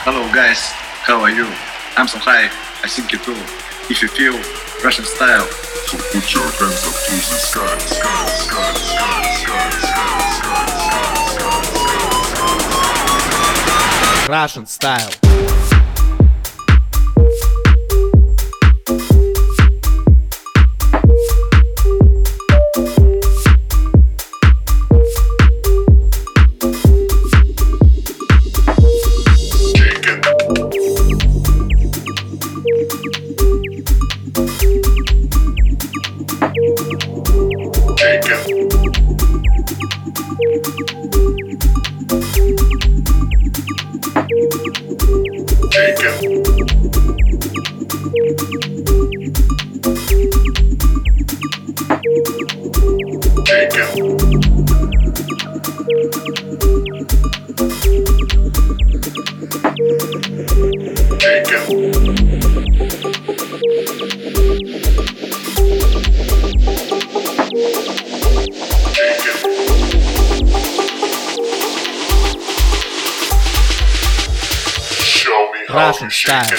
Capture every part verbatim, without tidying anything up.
Hello guys, how are you? I'm so high, I think you too. If you feel Russian style, so put your hands up to the sky, sky, sky, sky, sky, sky, sky, sky, Russian style. Russian style.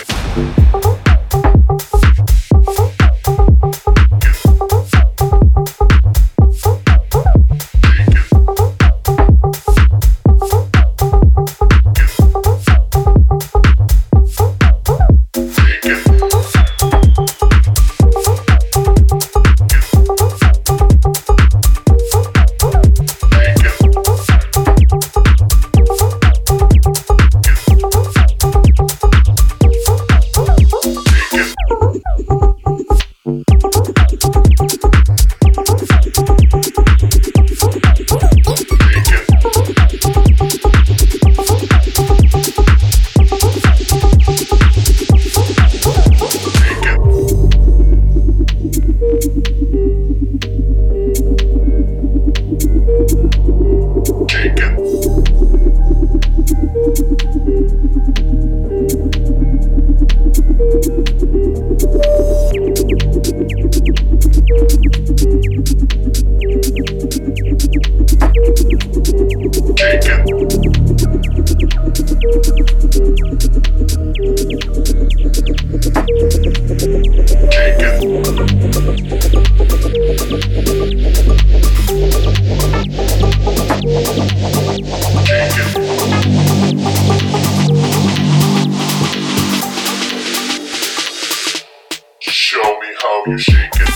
Show me how you shake it.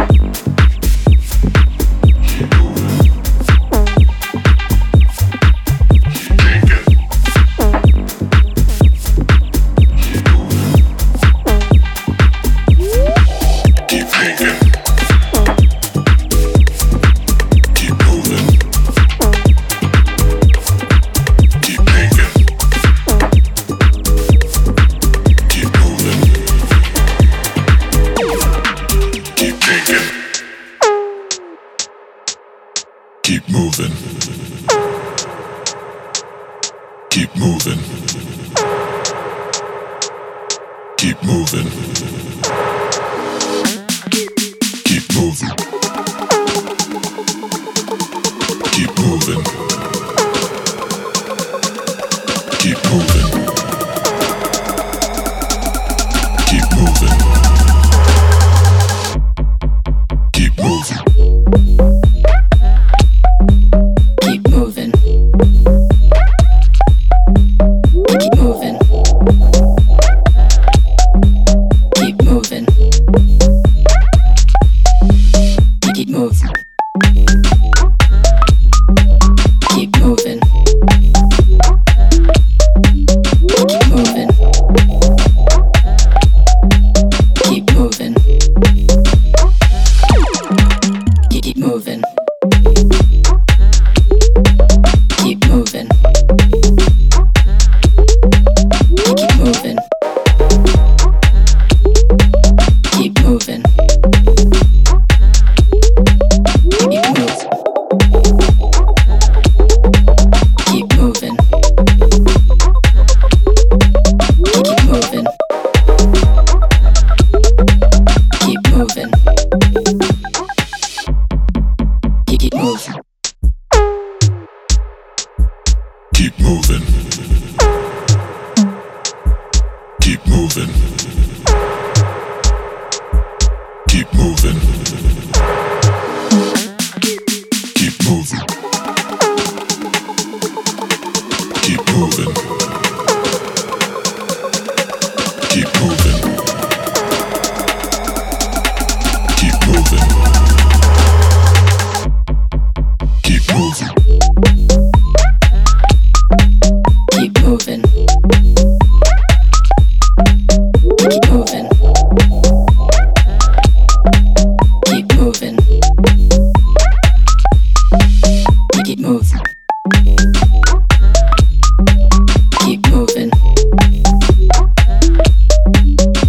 Keep moving. Keep moving. Keep moving. Keep moving. Keep moving. Keep moving. Keep moving. Keep moving. Keep moving. moving. Keep moving. Keep moving. Keep moving. Keep moving. Keep moving. Keep moving. Keep moving. Keep moving. Keep moving. Keep moving. Keep moving.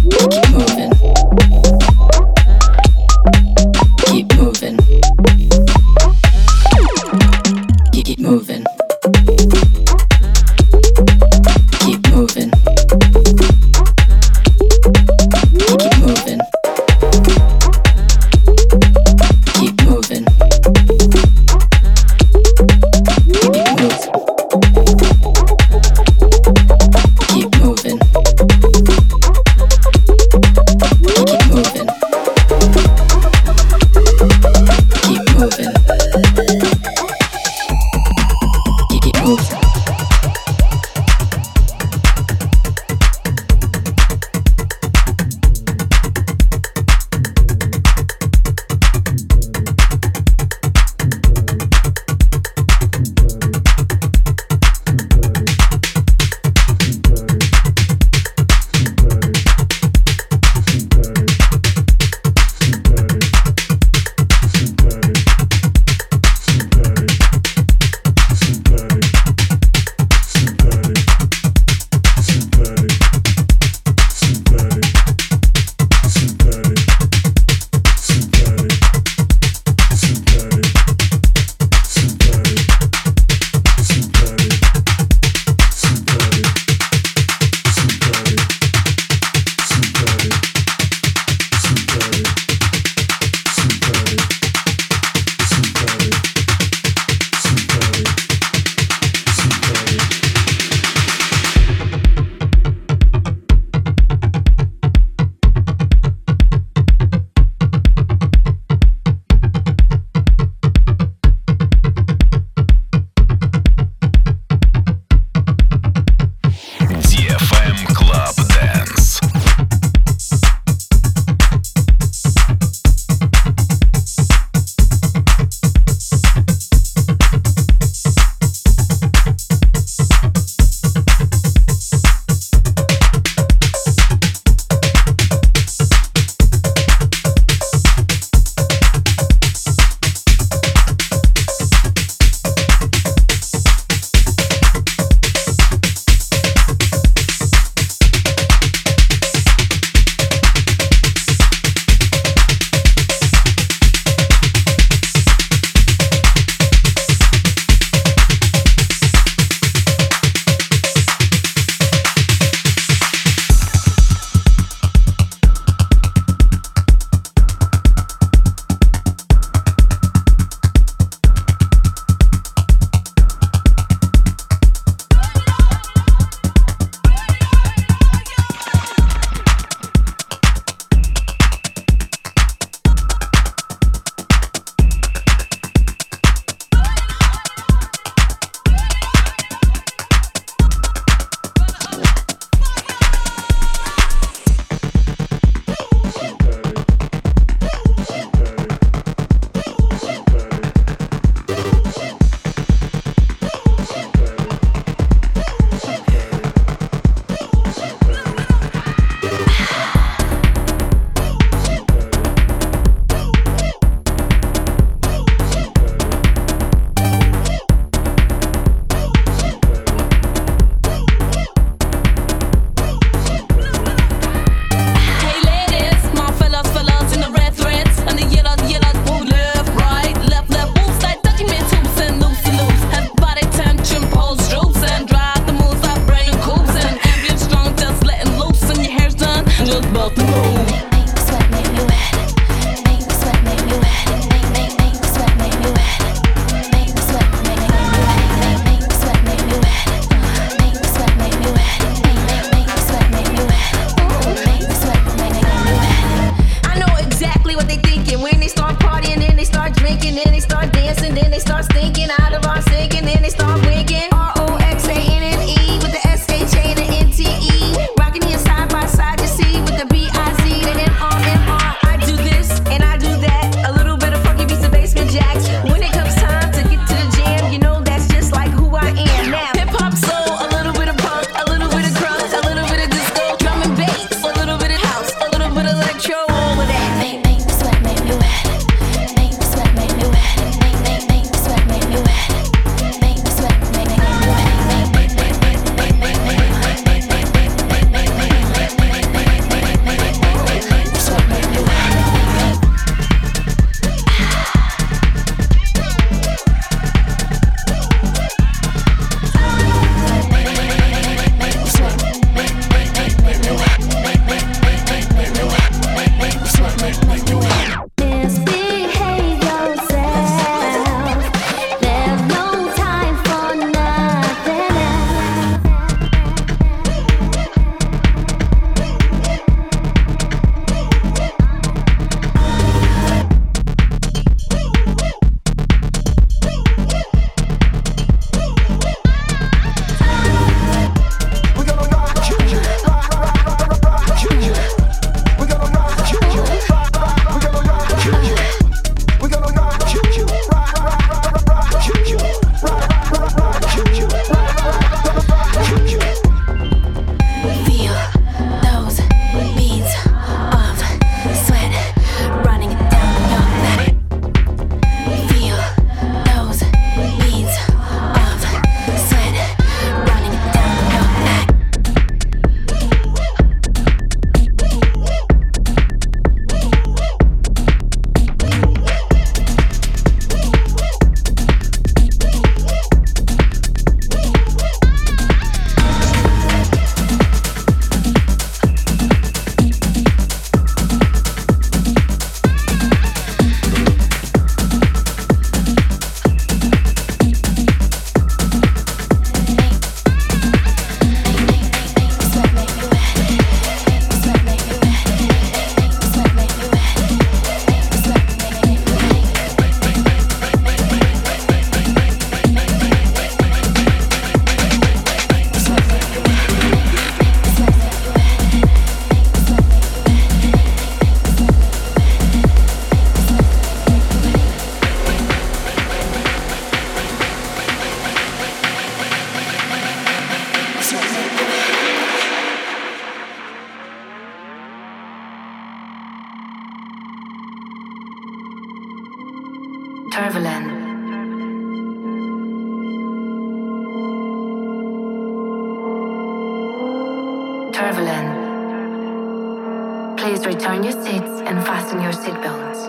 Turbulent. Please return your seats and fasten your seatbelts.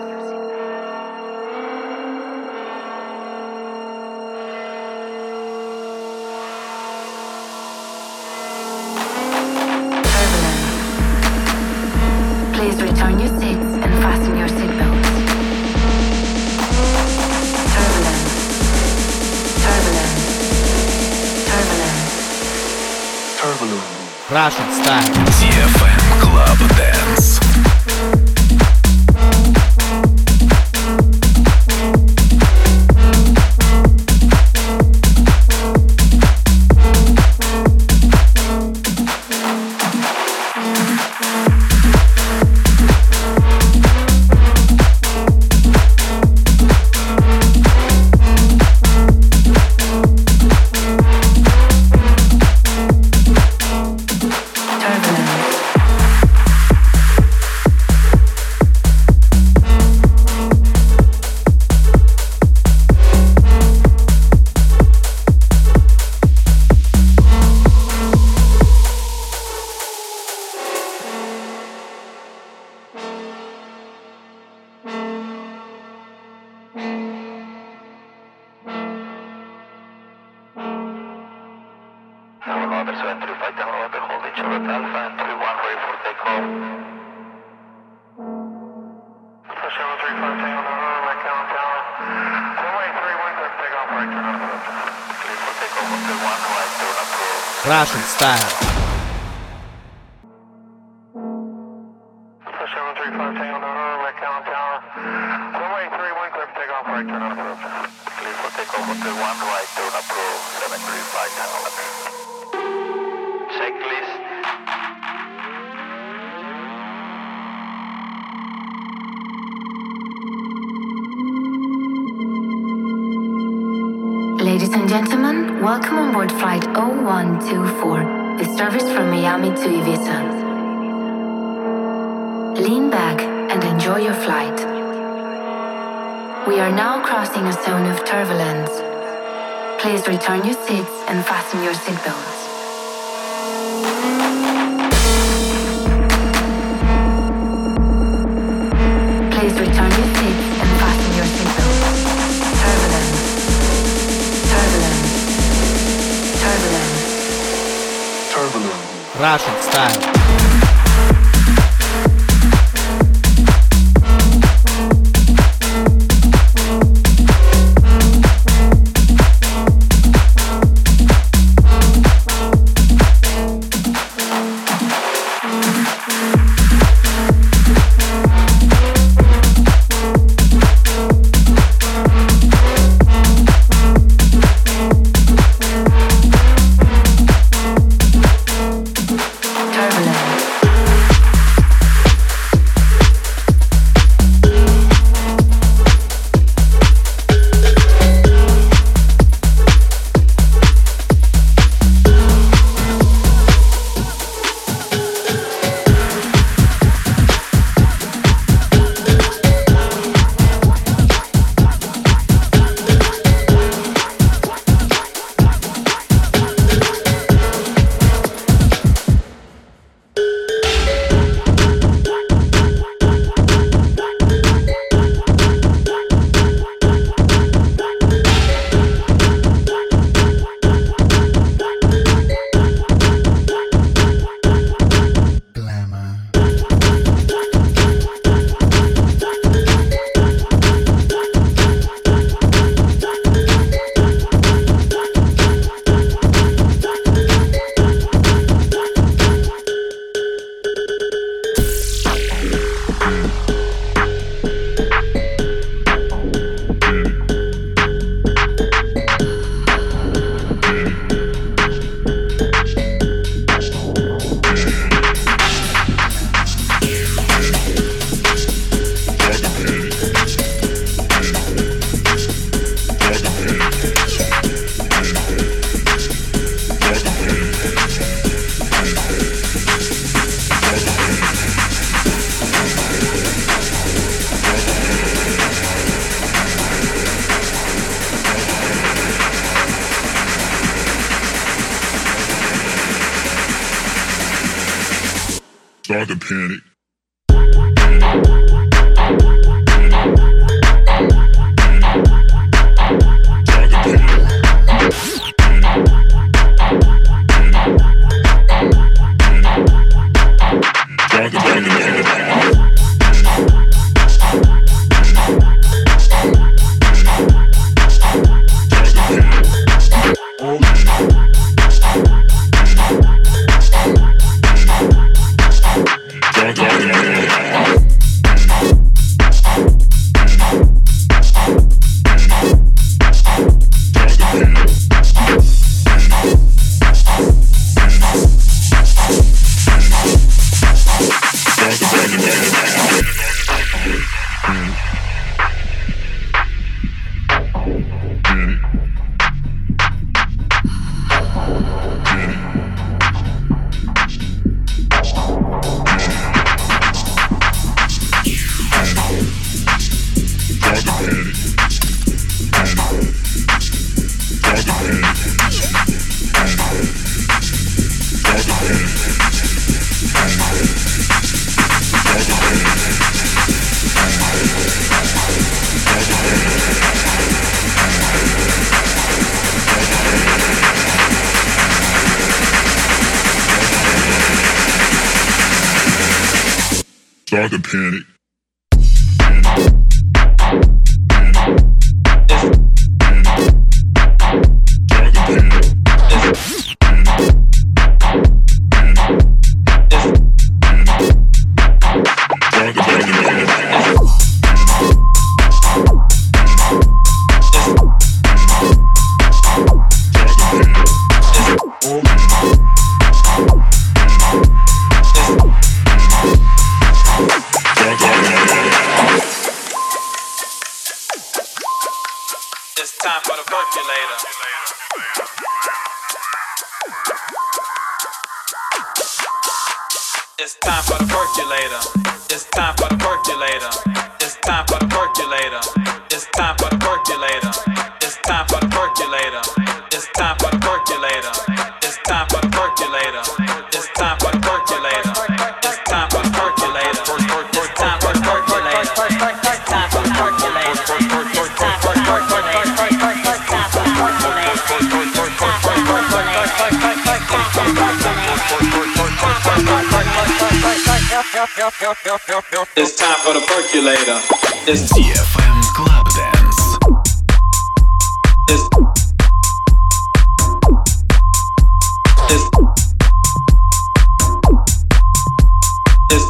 Turbulent. Please return your seats and fasten your seatbelts. Turbulent. Turbulent. Turbulent. Turbulent. Russian style. ди эф эм Club Dance. Russian style. Ladies and gentlemen, welcome on board flight zero one two four, the service from Miami to Ibiza. Lean back and enjoy your flight. We are now crossing a zone of turbulence. Please return your seats and fasten your seatbelts. Please return your seats and fasten your seatbelts. Turbulence. Turbulent. Turbulent. Turbulent. Russian style. Turbulent. Start to panic. Start to panic. It's time for the percolator. It's time for the percolator. It's time for the percolator. It's time for the percolator. It's time for the percolator. It's time for the percolator. It's time for the percolator. It's time for the percolator. It's time for the percolator. It's time for the percolator. It's time for the percolator. It's time for the percolator. It's time for the percolator. It's time for the percolator. It's ди эф эм Club Dance. It's It's It's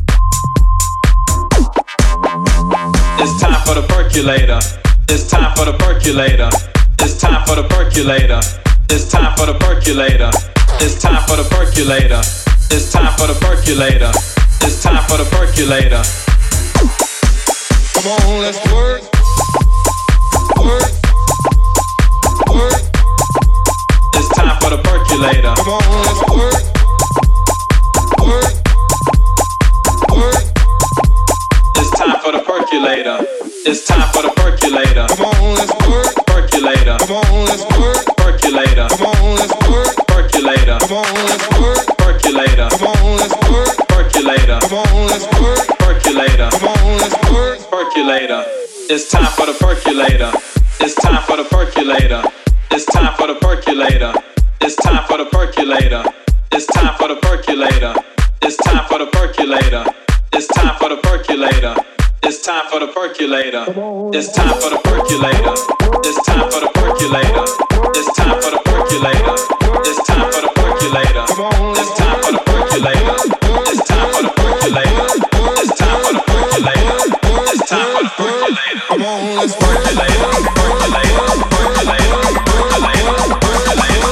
It's time for the percolator. It's time for the percolator. It's time for the percolator. It's time for the percolator. It's time for the percolator. It's time for the percolator. It's time for the percolator. Come on, let's work. Work. Work. It's time for the percolator. Come on, let's work. Work. Work. It's time for the percolator. It's time for the percolator. Come on, let's work. Percolator. Come on, let's work. Percolator. Come on, let's work. Percolator. Come on, let's work. Percolator. Come on, let's work. Percolator. Come on, let's work. Percolator. Come on, let's work. Percolator. It's time for the percolator. It's time for the percolator. It's time for the percolator. It's time for the percolator. It's time for the percolator. It's time for the percolator. It's time for the percolator. It's time for the percolator. It's time for the percolator. It's time for the percolator. It's time for the percolator. It's time for the percolator. It's time for the percolator. It's time for the percolator. It's time for the percolator. It's time for the percolator. Come on, let's work. Percolator. Percolator. Percolator. Percolator. Percolator.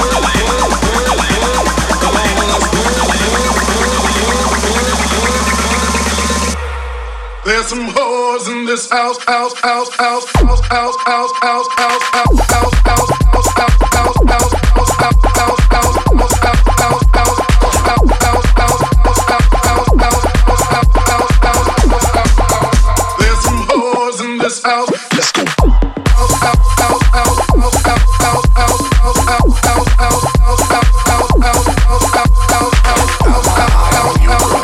There's some hoes in this house, house, house, house, house, house, house, house, house, house, house, house, house, house, house, house, house, house, house, there's some hoes in this house. Let's go. You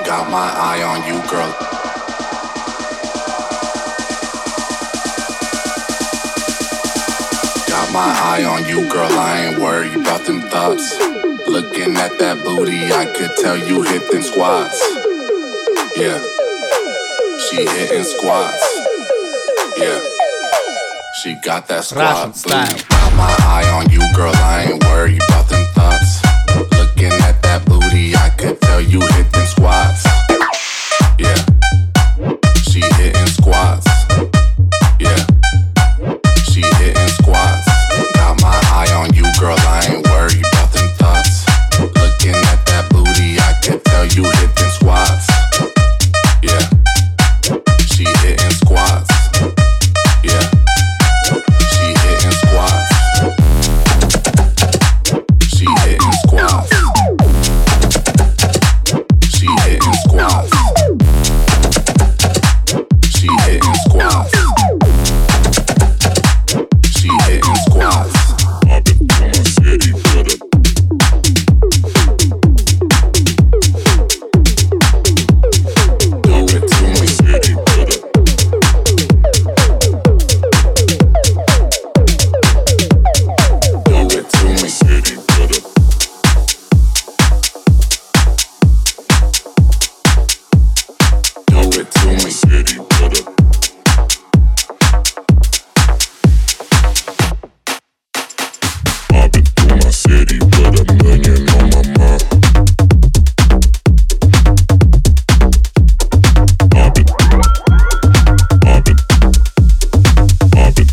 Got my eye on you, girl. Got my eye on you, girl. I ain't worried about them thoughts. Looking at that booty, I could tell you hit them squats. Yeah, she hitting squats. Yeah, she got that squat booty. Got my eye on you, girl. I ain't worried about them thoughts. Looking at that booty, I could tell you hit them squats. Yeah, she hitting squats. Yeah, she hitting squats. Got my eye on you, girl. I ain't worried about them thoughts. Looking at that booty, I could tell you hit them squats. Yeah, she hitting squats. Yeah, she hitting squats. She hitting squats. She hitting squats. She hitting squats. She hitting squats. I've been through my city, better. Do it to me, city, better. Do it to me, city, better. Do it to me, city, better. I've been through my city, but a million on my mind. I've been, I've been, I've been.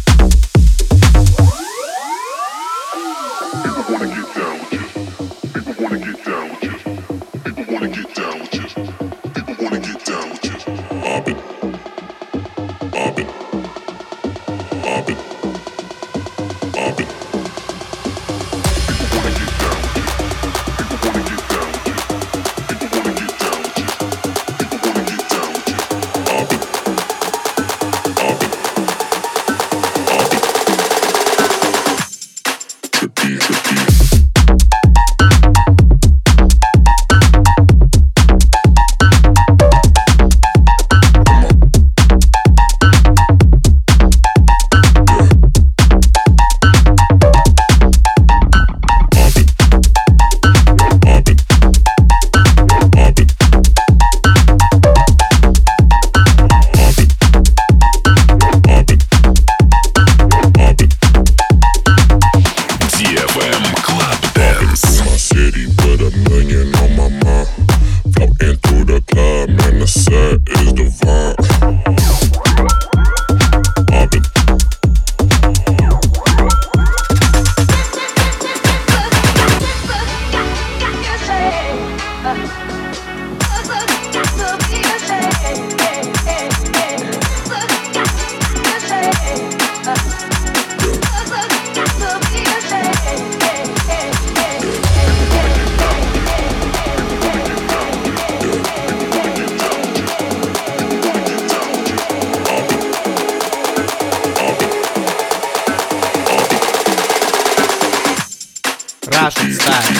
People wanna get down with you. People wanna get down with you. People wanna get down with you. People wanna get down with you. I've been, I've been, I've been, I've been. People wanna get down with you. People wanna get down with you. People wanna get down with you. People wanna get down with you. I've been, I've been, I've been. Trippy, trippy. ди эф эм Club Dance. My city, but a million on my mind. Floating through the club, man, the set is divine. I've been, Russian style.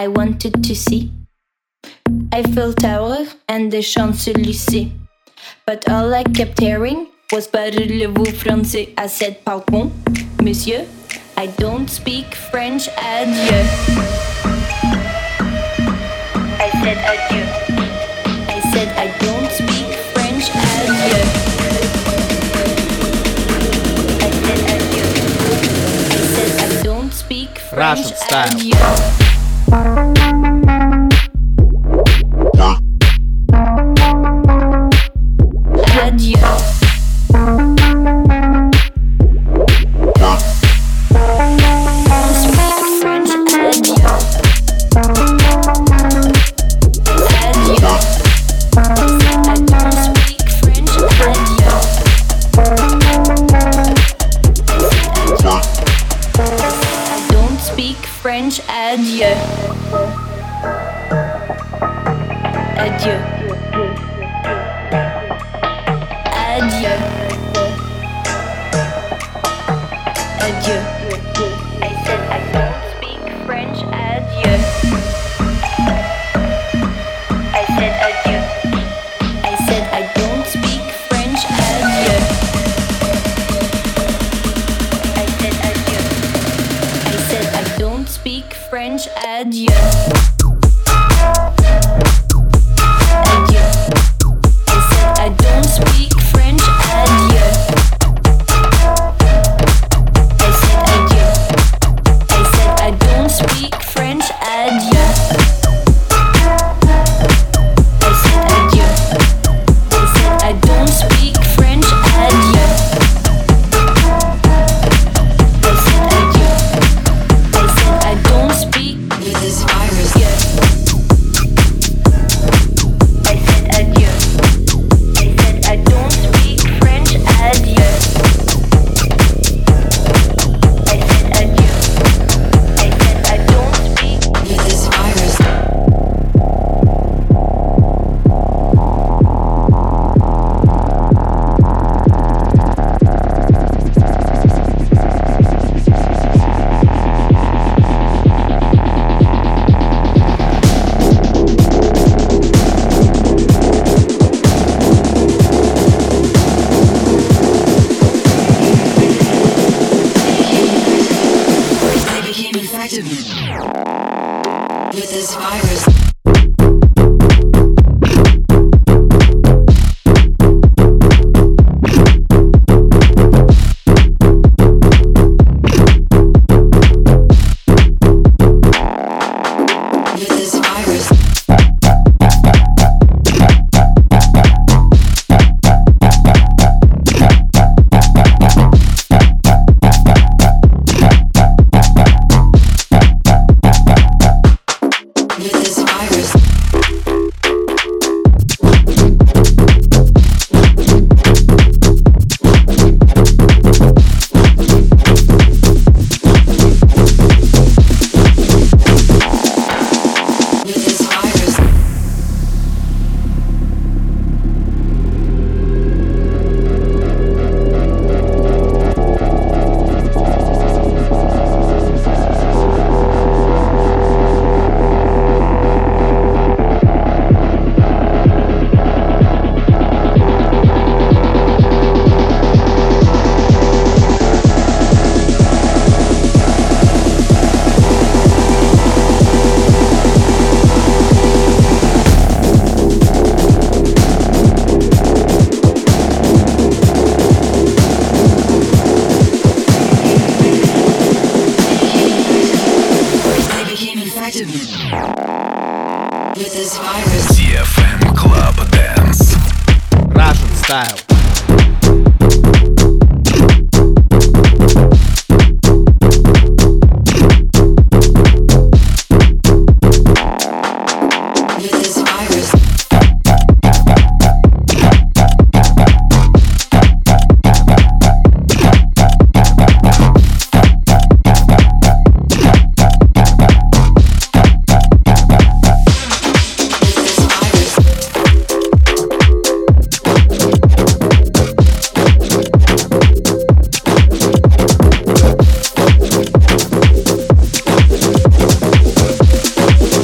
I wanted to see Eiffel Tower and the Champs-Élysées. But all I kept hearing was parlez-vous français? I said pardon, monsieur, I don't speak French, adieu. I said adieu. I said I don't speak French, adieu. I said adieu. I said I don't speak French, Russian style. adieu. Adieu. French, adieu. Adieu. Adieu. Adieu. I said I don't speak French, adieu. I said adieu. I said I don't speak French, adieu. I said adieu. I said I don't speak French, adieu. Adieu. I said I don't speak French, adieu. I said adieu. I said I don't speak French, adieu. I said adieu. I said I don't speak French, adieu. I said adieu. I said I don't speak with this virus. Yeah. I said adieu. I said I don't speak French, adieu. I said adieu. I said I don't speak with this virus. I became infected with this virus. With this virus. With this virus. With this virus. I became infected with this virus. ди эф эм Club Dance. Russian style. With this virus. With this virus.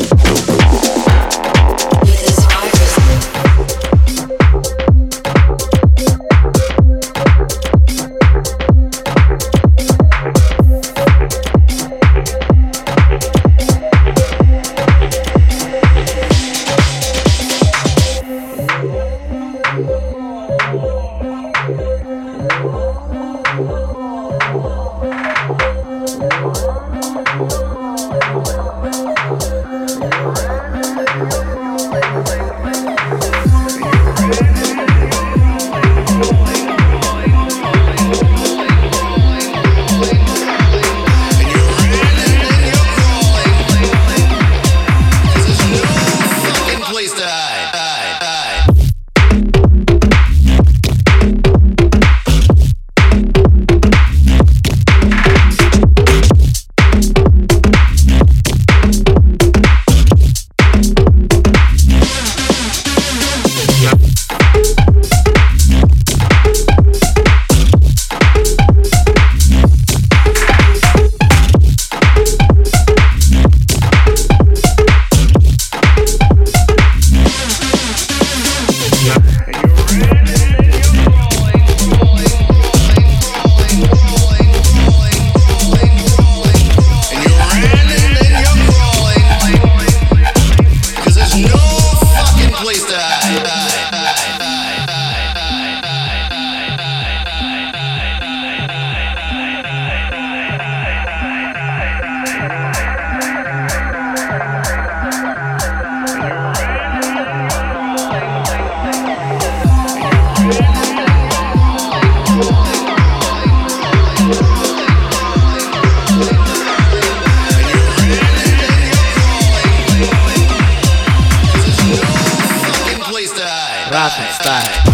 Russian style.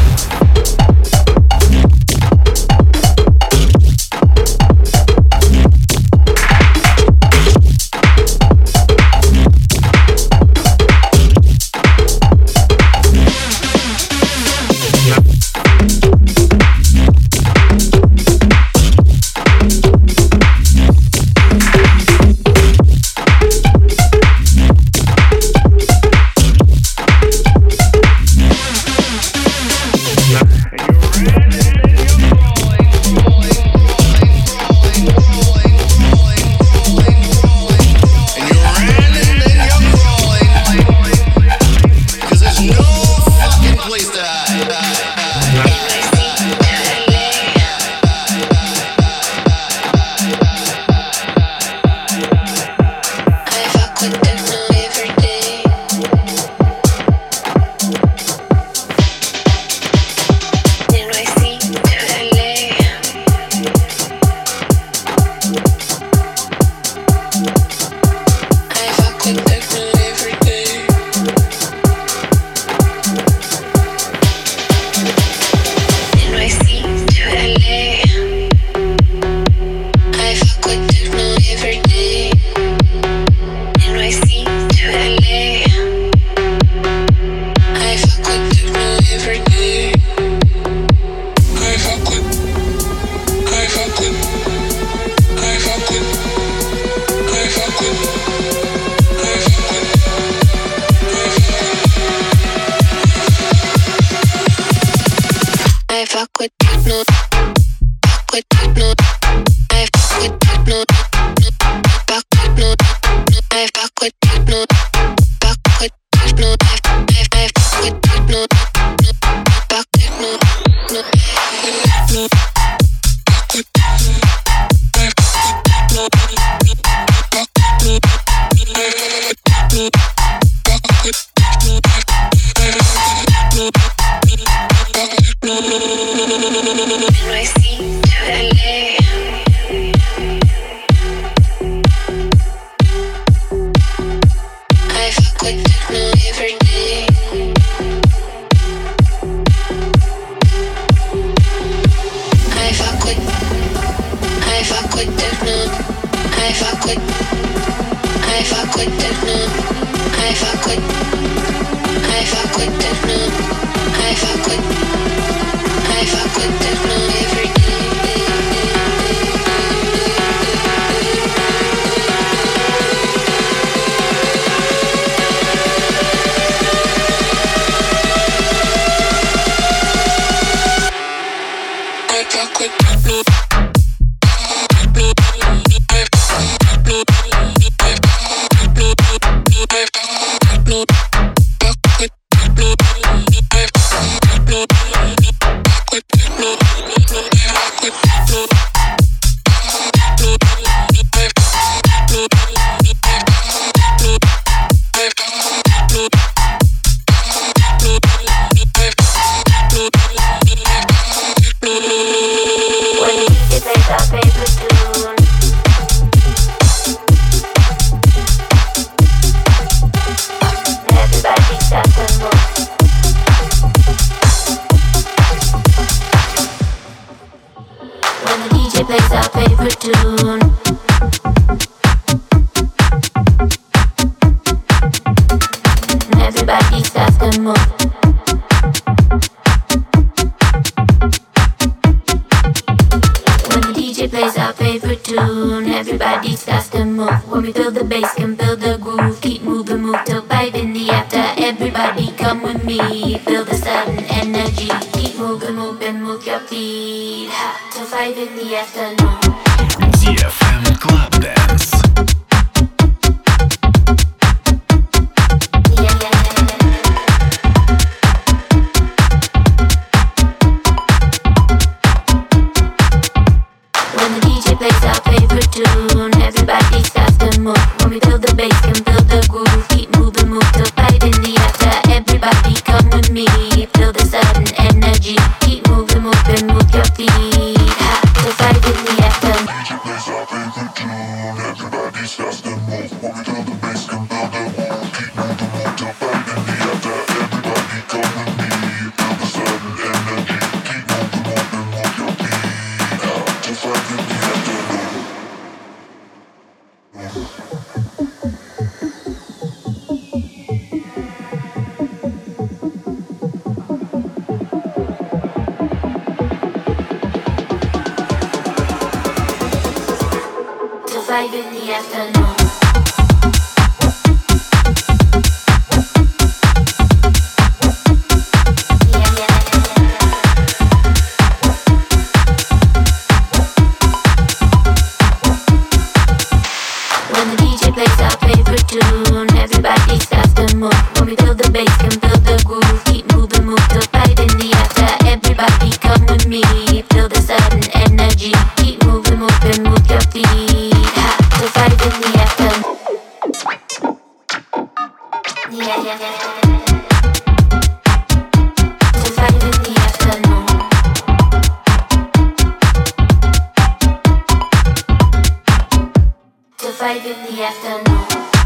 Everybody five in the afternoon. Everybody starts to move. When we build the bass, can build the groove. Keep moving, move till five in the after. Everybody come with me. Feel the sudden energy. Keep moving, moving, move your feet. Ha, till five in the after. Yeah, yeah, yeah. Till five in the afternoon. Till five in the afternoon.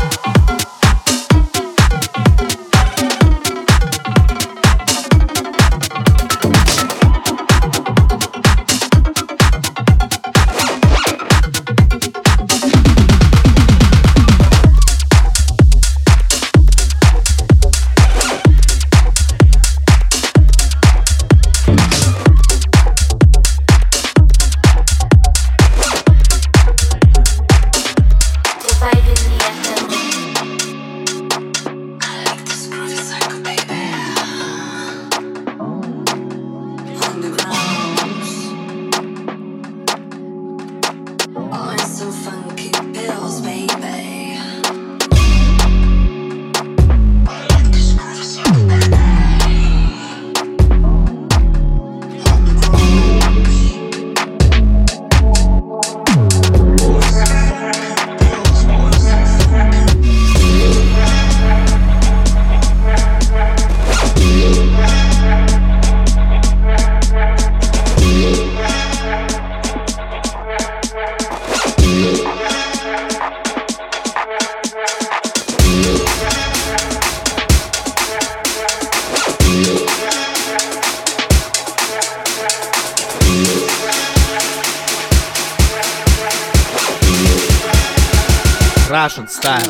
Russian style.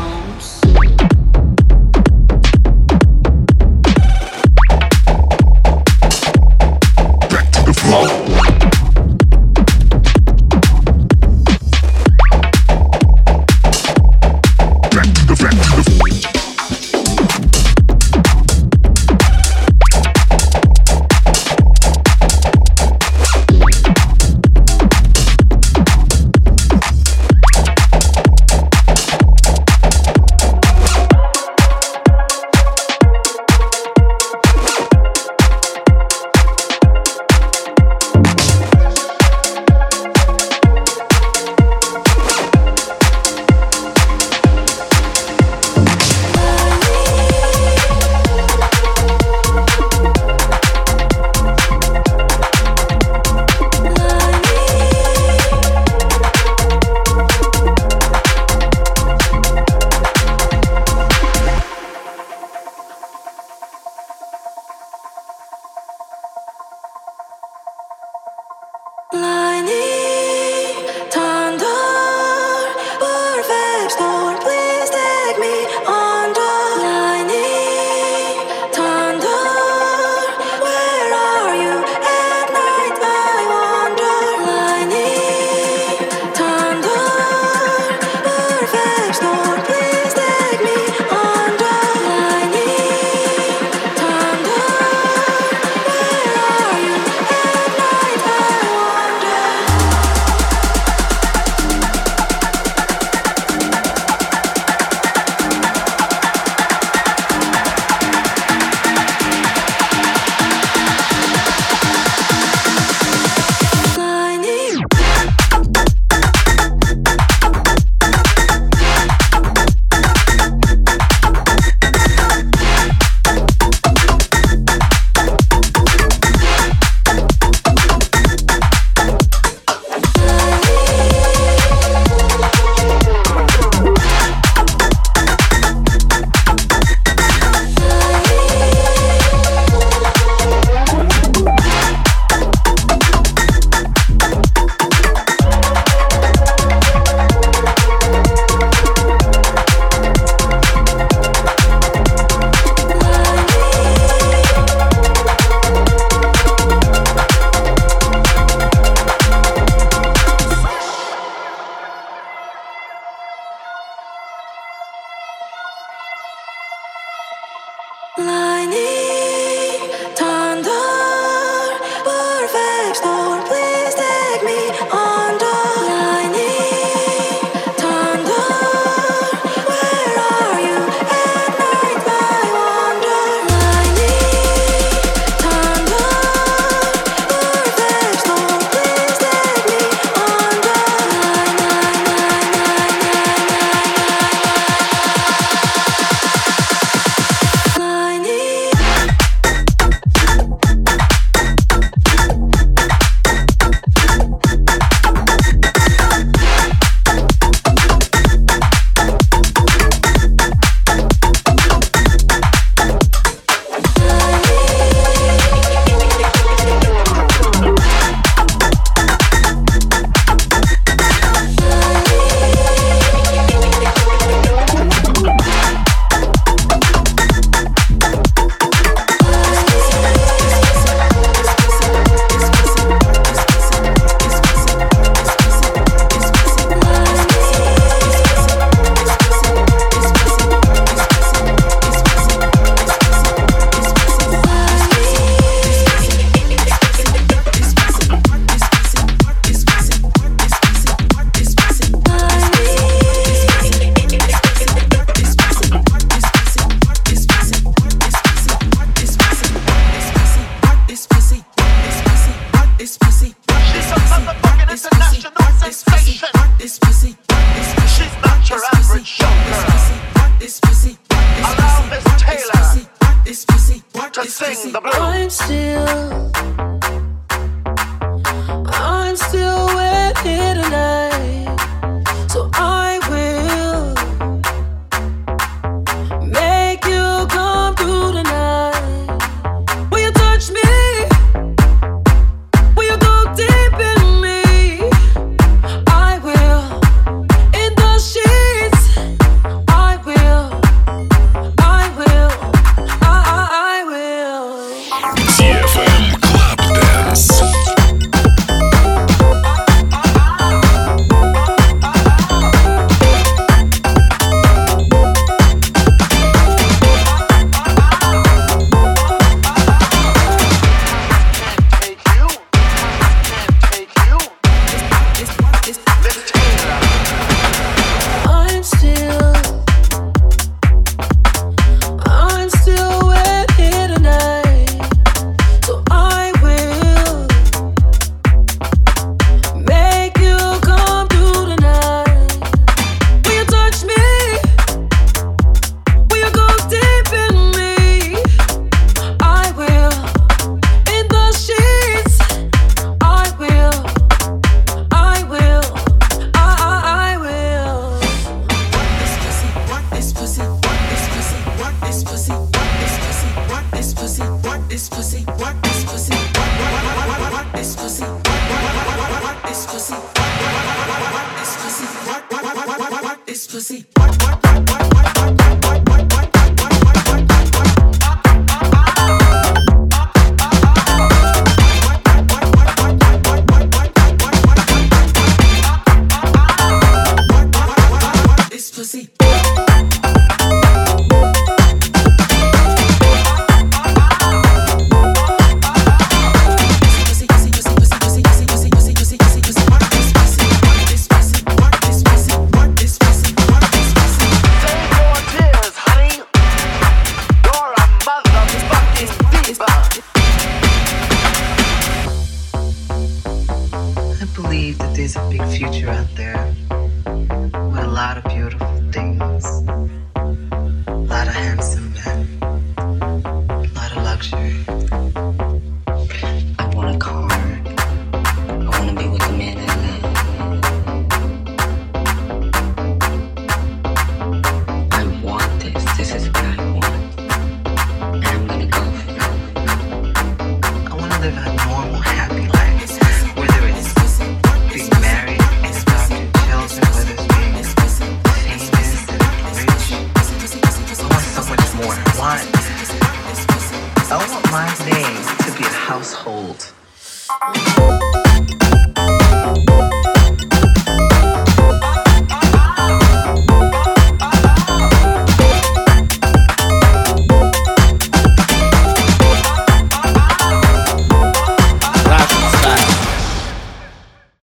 Back to the flow. to sing the blues. I'm still, I'm still with here tonight, so I will make you come through tonight. Will you touch me? Will you go deep in me? I will. In the sheets, I will. I will. I, I, I will. ди эф эм Club Dance. I'm still, I'm still with here tonight, so I will make you come through tonight. Will you touch me? Will you go deep in me? I will. In the sheets, I will. I will. I, I, I will. This pussy, what this pussy, what this pussy, what this pussy, what this pussy, what this pussy, what this pussy, what this pussy, what this pussy, what this pussy, what what this pussy, what what what what what what what what this pussy. I believe that there's a big future out there with a lot of beautiful things, a lot of handsome men, a lot of luxury. I want a car. I want to be with the man I love. I want this. This is what I want. And I'm gonna go for it. I want to live a normal, happy life, whether it's being married and adopting children, whether it's being famous and rich. I want so much more. I want, I want my name to be a household.